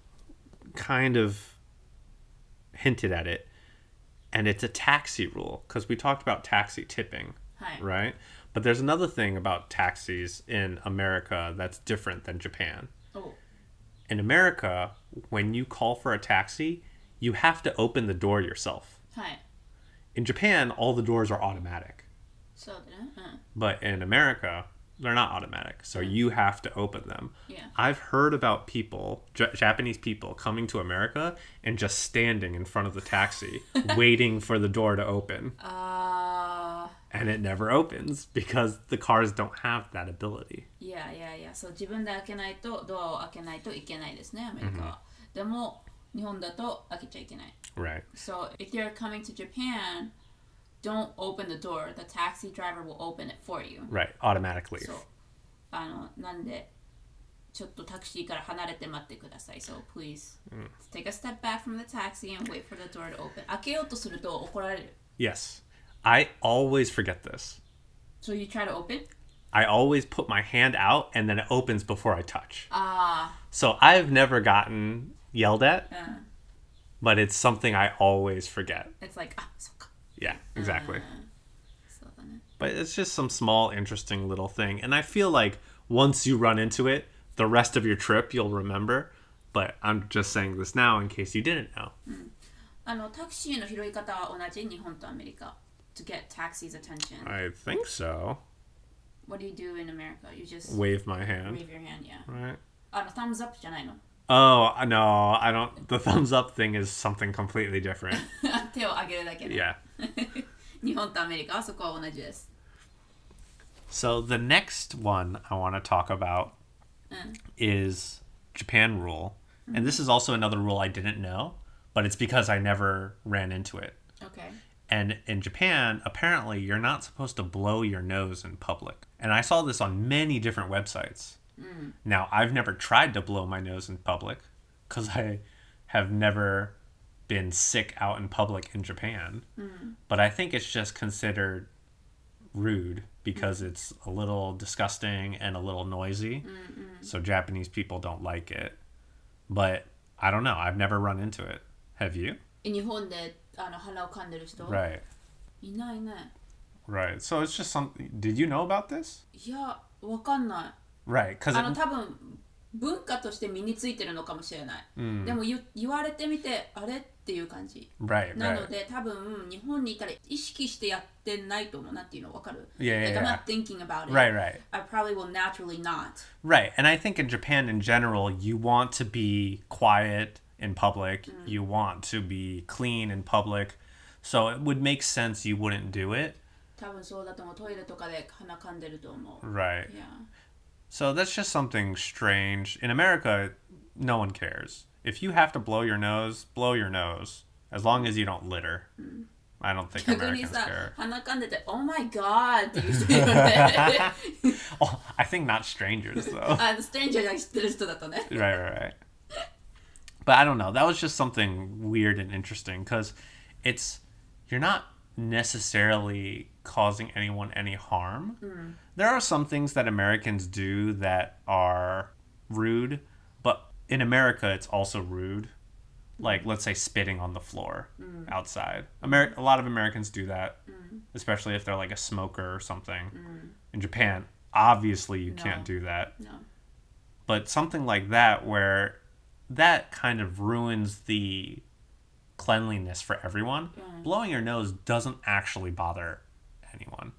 kind of hinted at it. And it's a taxi rule. Because we talked about taxi tipping. はい。 Right? But there's another thing about taxis in America that's different than Japan. お In America, when you call for a taxi, you have to open the door yourself. はい。 In Japan, all the doors are automatic. そうだね。うん。 But in America, they're not automatic. So you have to open them. Yeah. I've heard about people, J- Japanese people, coming to America and just standing in front of the taxi, waiting for the door to open. あー。 And it never opens because the cars don't have that ability. いやいやいや、そう自分で開けないとドアを開けないといけないですね、アメリカは。でも日本だと開けちゃいけない。 Right. So if you're coming to Japan, don't open the door. The taxi driver will open it for you. Right. Automatically. そう。あのなんでちょっとタクシーから離れて待ってください。So please take a step back from the taxi and wait for the door to open. 開けようとすると怒られる。 Yes. I always forget this. So you try to open? I always put my hand out and then it opens before I touch. あ So I've never gotten yelled at, あ、うん。 but it's something I always forget. It's like, あ、そっか。 Yeah, exactly. そうだね。 But it's just some small, interesting little thing. And I feel like once you run into it, the rest of your trip you'll remember. But I'm just saying this now in case you didn't know. あのタクシーの拾い方は同じ日本とアメリカ。To get taxi's attention. I think so. What do you do in America? You just Wave my hand. wave your hand, yeah. Right. あの thumbs up じゃないの。 Oh, no, I don't. The thumbs up thing is something completely different. 手を上げるだけで。 Yeah. 日本とアメリカはそこは同じです。 So the next one I want to talk about is Japan rule. And this is also another rule I didn't know, but it's because I never ran into it. Okay. And in Japan, apparently you're not supposed to blow your nose in public. And I saw this on many different websites. Now, I've never tried to blow my nose in public because I have never been sick out in public in Japan. But I think it's just considered rude because it's a little disgusting and a little noisy. So Japanese people don't like it. But I don't know. I've never run into it. Have you? 日本であの鼻を噛んでる人 Right. いないね。 Right. So it's just something. Did you know about this? いや、わかんない。 Right. Because あの多分文化として身についてるのかもしれない。でも言言われてみてあれっていう感じ。 right, な right. ので多分日本にいたら意識してやってないと思う。なんていうのわかる Yeah, yeah, Like I'm yeah. not thinking about it. Right, right. I probably will naturally not. Right. And I think in Japan in general, you want to be quiet in public. You want to be clean in public. So it would make sense you wouldn't do it. 多分そうだと思う。トイレとかで鼻噛んでると思う。 Right. Yeah. So that's just something strange. In America, no one cares. If you have to blow your nose, blow your nose. As long as you don't litter. I don't think 逆に Americans さ care. 鼻噛んでて Oh my god っていう人いるよね。 Oh, I think not strangers, though. あのストレンジャーが知ってる人だとね。 Right, right, right. But I don't know. That was just something weird and interesting because it's, you're not necessarily causing anyone any harm. There are some things that Americans do that are rude, but in America, it's also rude. Like, let's say spitting on the floor outside. Ameri- a lot of Americans do that, especially if they're like a smoker or something. In Japan, obviously you No. can't do that. No. But something like that where that kind of ruins the cleanliness for everyone. Blowing your nose doesn't actually bother anyone.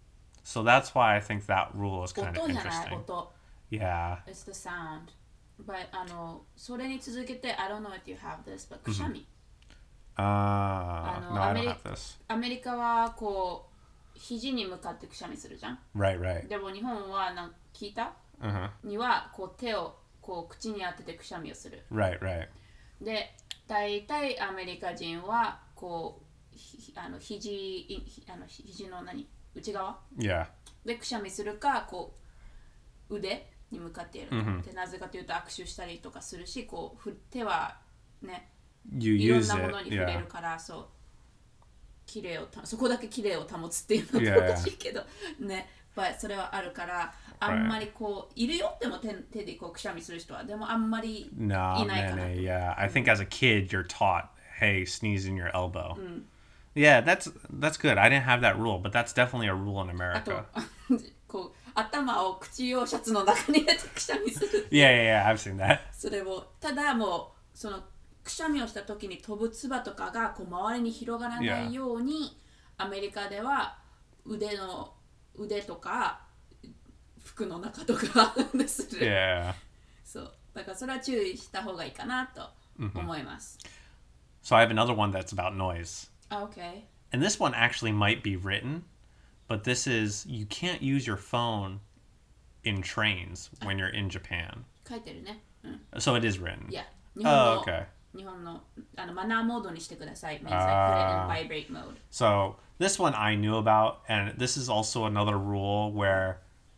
So that's why I think that rule is kind of 音じゃない interesting. 音 Yeah. It's the sound. But あのそれに続けて I don't know if you have this, but くしゃみ、 Uh, あの no, I アメ don't リ have this. アメリカはこう肘に向かってくしゃみするじゃん。 Right, right. でも日本はなん聞いた Uh-huh. にはこう手をこう口に当ててくしゃみをする。 Right, right. で、大体アメリカ人はこうひあの肘いひあの肘の何内側 Yeah. でくしゃみするかこう腕に向かってやるか、 Mhm. でなぜかというと握手したりとかするし、こうふ手はね You いろん use なも it. のに触れ Yeah. るから、そう綺麗をたそこだけ綺麗を保つっていうの Yeah, は yeah. おかしいけどね、but それはあるからあんまりこういるよっても手手でこうくしゃみする人はでもあんまり No, いないかな。 man, yeah. I think as a kid, you're taught, hey, sneeze in your elbow. Yeah, that's that's good. I didn't have that rule, but that's definitely a rule in あと America. こう頭を口用シャツの中に入れてくしゃみする Yeah, yeah, yeah. I've seen that. それをただもうそのくしゃみをした時に飛ぶ唾とかがこう周りに広がらないように、アメリカでは腕の腕とか服の中とかする、 Yeah. そうだからそれは注意した方がいいかなと思います。 So I have another one that's about noise. あ、OK。 And this one actually might be written, but this is you can't use your phone in trains when you're in Japan. 書いてるね。うん。 So it is written. いや、日本の、 Oh, okay. 日本のあのマナーモードにしてください。means Ah. like put it in vibrate mode. So this one I knew about, and this is also another rule where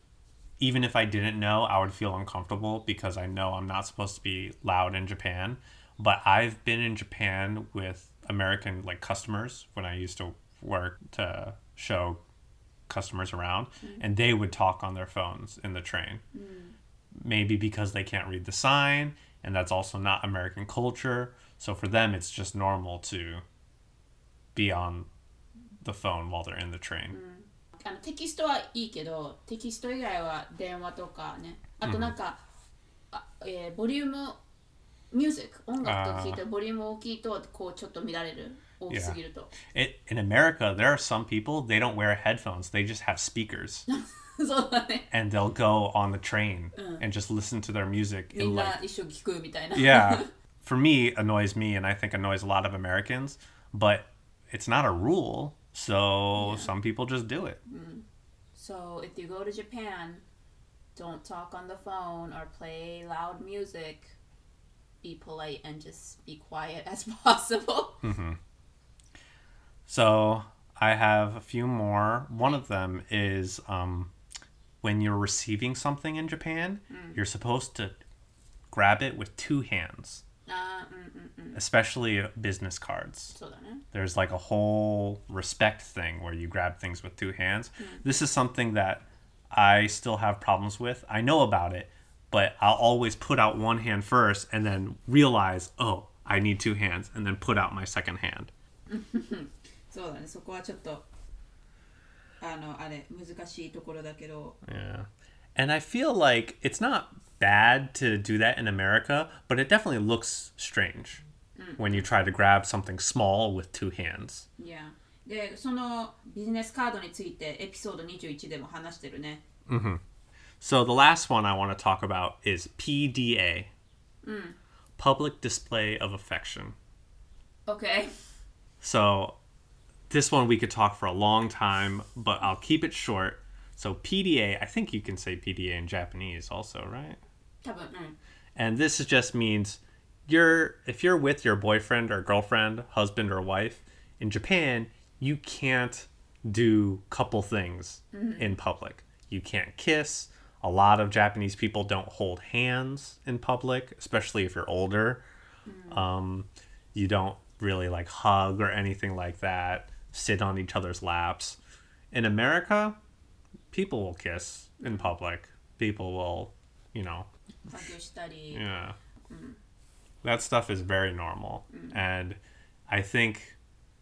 even if I didn't know, I would feel uncomfortable because I know I'm not supposed to be loud in Japan. But I've been in Japan with American like customers when I used to work to show customers around, and they would talk on their phones in the train. Maybe because they can't read the sign, and that's also not American culture. So for them, it's just normal to be on the phone while they're in the train. あのテキストはいいけど、テキスト以外は電話とかね、あとなんか、あえーボリュームミュージック音楽とか聞いてボリューム大きいとこうちょっと乱れる、大きすぎると。 It, in America, there are some people, they don't wear headphones. They just have speakers. そうだね。 And they'll go on the train and just listen to their music み in ん like な一緒に聞くみたいな。 yeah. For me, annoys me, and I think annoys a lot of Americans. But it's not a rule, so some people just do it. So if you go to Japan, don't talk on the phone or play loud music. Be polite and just be quiet as possible. So I have a few more. One of them is um, when you're receiving something in Japan, you're supposed to grab it with two hands, あーうんうんうん。 especially business cards. そうだね。 There's like a whole respect thing where you grab things with two hands. This is something that I still have problems with. I know about it, but I'll always put out one hand first and then realize, oh, I need two hands, and then put out my second hand. そうだね。そこはちょっとあのあれ難しいところだけど。 Yeah. And I feel like it's not bad to do that in America, but it definitely looks strange when you try to grab something small with two hands. Yeah. で、そのビジネスカードについてエピソードにじゅういちでも話してるね。 So the last one I want to talk about is P D A. Public Display of Affection. Okay. So this one we could talk for a long time, but I'll keep it short. So P D A, I think you can say P D A in Japanese also, right? 多分、うん。 And this just means you're if you're with your boyfriend or girlfriend, husband or wife in Japan, you can't do couple things in public. You can't kiss. A lot of Japanese people don't hold hands in public, especially if you're older. Um, you don't really like hug or anything like that. Sit on each other's laps. In America, people will kiss in public. People will, you know, ハグしたり。 yeah. That stuff is very normal. And I think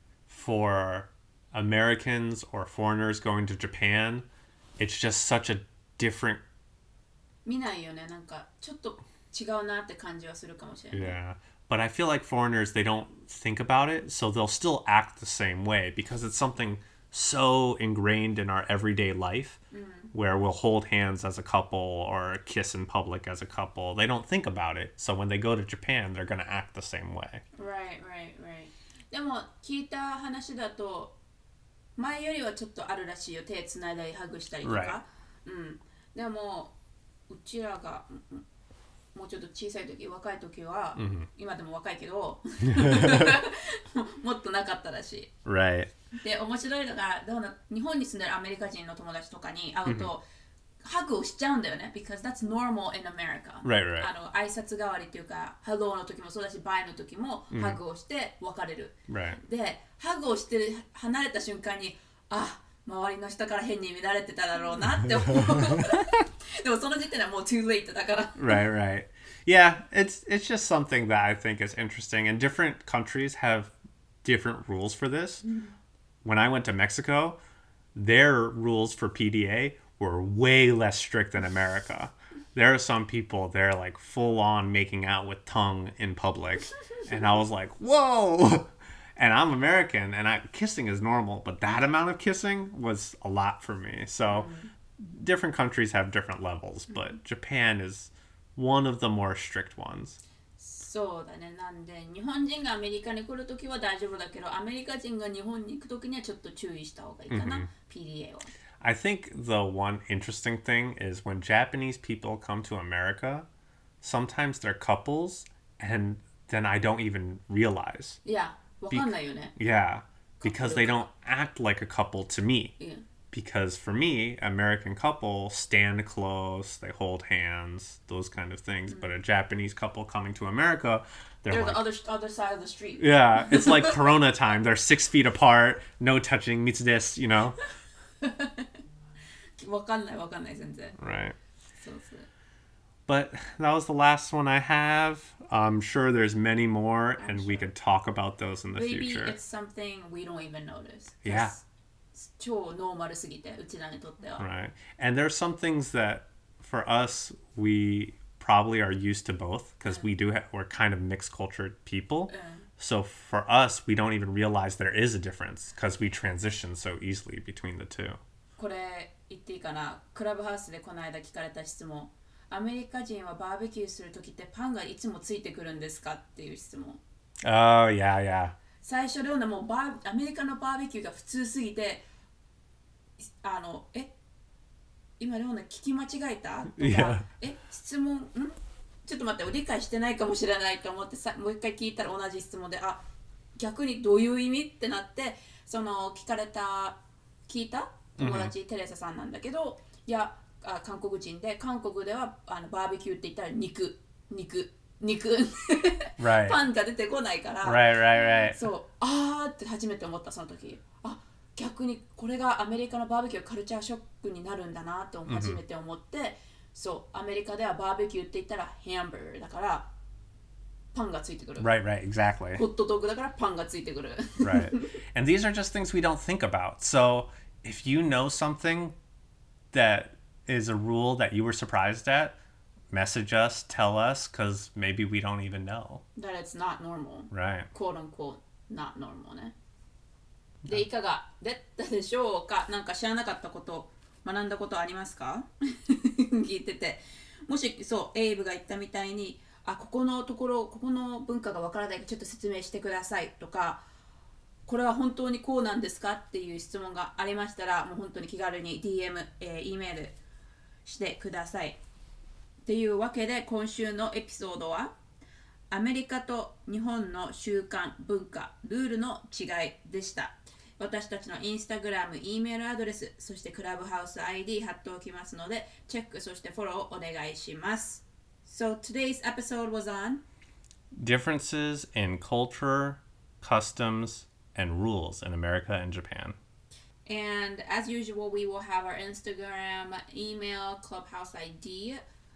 for Americans or foreigners going to Japan, it's just such a different 見ないよね。なんかちょっと違うなって感じはするかもしれない。 yeah. But I feel like foreigners they don't think about it, so they'll still act the same way because it's something so ingrained in our everyday life where we'll hold hands as a couple or kiss in public as a couple. They don't think about it. So when they go to Japan, they're going to act the same way. Right, right, right. でも聞いた話だと前よりはちょっとあるらしいよ。手つないだりハグしたりとか。 Right. うん。でもうちらがもうちょっと小さい時、若い時は、 mm-hmm. 今でも若いけどもっとなかったらしい。 Right. で面白いのがどうな日本に住んでるアメリカ人の友達とかに会うと、mm-hmm. ハグをしちゃうんだよね。because that's normal in America. Right, right. あの挨拶代わりっていうか、Hello の時もそうだし、Bye の時もハグをして別れる。 Right. で、ハグをして離れた瞬間に、あ、周りの人から変に見られてただろうなって思う。でもその時点ではもう too late だから。 Right, right. Yeah, it's it's just something that I think is interesting, and different countries have different rules for this. Mm-hmm. When I went to Mexico, their rules for P D A were way less strict than America. There are some people, they're like full on making out with tongue in public. And I was like, whoa! And I'm American, and I, kissing is normal, but that amount of kissing was a lot for me. So mm-hmm. different countries have different levels, but Japan is one of the more strict ones. そうだね。なんで日本人がアメリカに来るときは大丈夫だけど、アメリカ人が日本に行くときにはちょっと注意した方がいいかな、mm-hmm. ピーディーエー は。 I think the one interesting thing is when Japanese people come to America, sometimes they're couples, and then I don't even realize. Yeah, わかんないよね。 Be- yeah, because they don't act like a couple to me. Yeah. Because for me, American couple stand close, they hold hands, those kind of things. Mm-hmm. But a Japanese couple coming to America, they're, they're like, the other other side of the street. Yeah, it's like Corona time. They're six feet apart, no touching, mitsu desu, you know? わかんないわかんない全然。 Right. そうそう。 But that was the last one I have. I'm sure there's many more, I'm and sure. we could talk about those in the Maybe future. Maybe it's something we don't even notice. Yeah. 超ノーマルすぎて、うちらにとっては。 Right. And there's some things that, for us, we probably are used to both, because we do have, we're kind of mixed cultured people. So for us, we don't even realize there is a difference, because we transition so easily between the two. これ言っていいかな。クラブハウスでこの間聞かれた質問。アメリカ人はバーベキューするときってパンがいつもついてくるんですかっていう質問。 Oh, yeah, yeah. 最初レオナもバーアメリカのバーベキューが普通すぎて、あのえ今レオナ聞き間違えたとか、 yeah. え質問んちょっと待って理解してないかもしれないと思ってさもう一回聞いたら同じ質問であ逆にどういう意味ってなってその聞かれた聞いた友達、mm-hmm. テレサさんなんだけどいやあ韓国人で韓国ではあのバーベキューって言ったら肉肉肉 right. パンが出てこないから、 right, right, right. そうあーって初めて思ったその時あ逆にこれがアメリカのバーベキューカルチャーショックになるんだなと初めて思って、mm-hmm. そうアメリカではバーベキューって言ったらハンバーガーだからパンがついてくる right right exactly ホットドッグだからパンがついてくる right and these are just things we don't think about so if you know something that is a rule that you were surprised at message us tell us because maybe we don't even know that it's not normal right quote unquote not normal ねでいかがだったでしょうかなんか知らなかったこと学んだことありますか聞いててもしそうエイブが言ったみたいにあここのところここの文化がわからないからちょっと説明してくださいとかこれは本当にこうなんですかっていう質問がありましたらもう本当に気軽に ディーエム、えー、E メールしてくださいっていうわけで今週のエピソードはアメリカと日本の習慣文化ルールの違いでした私たちのインスタグラム、E メールアドレス、そしてクラブハウス アイディー 貼っておきますので、チェック、そしてフォローお願いします。So today's episode was on differences in culture, customs, and rules in America and Japan. And as usual, we will have our Instagram, email, clubhouse I D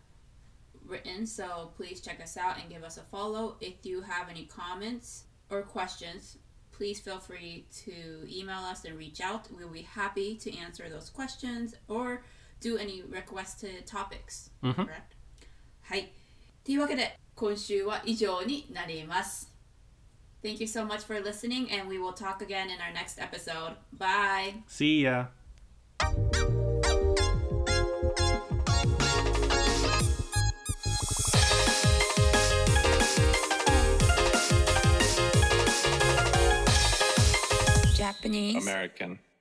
written, so please check us out and give us a follow. If you have any comments or questions, please feel free to email us and reach out. We'll be happy to answer those questions or do any requested topics. Mm-hmm. Correct? はい。というわけで、今週は以上になります。 Thank you so much for listening, and we will talk again in our next episode. Bye. See ya. Japanese. American.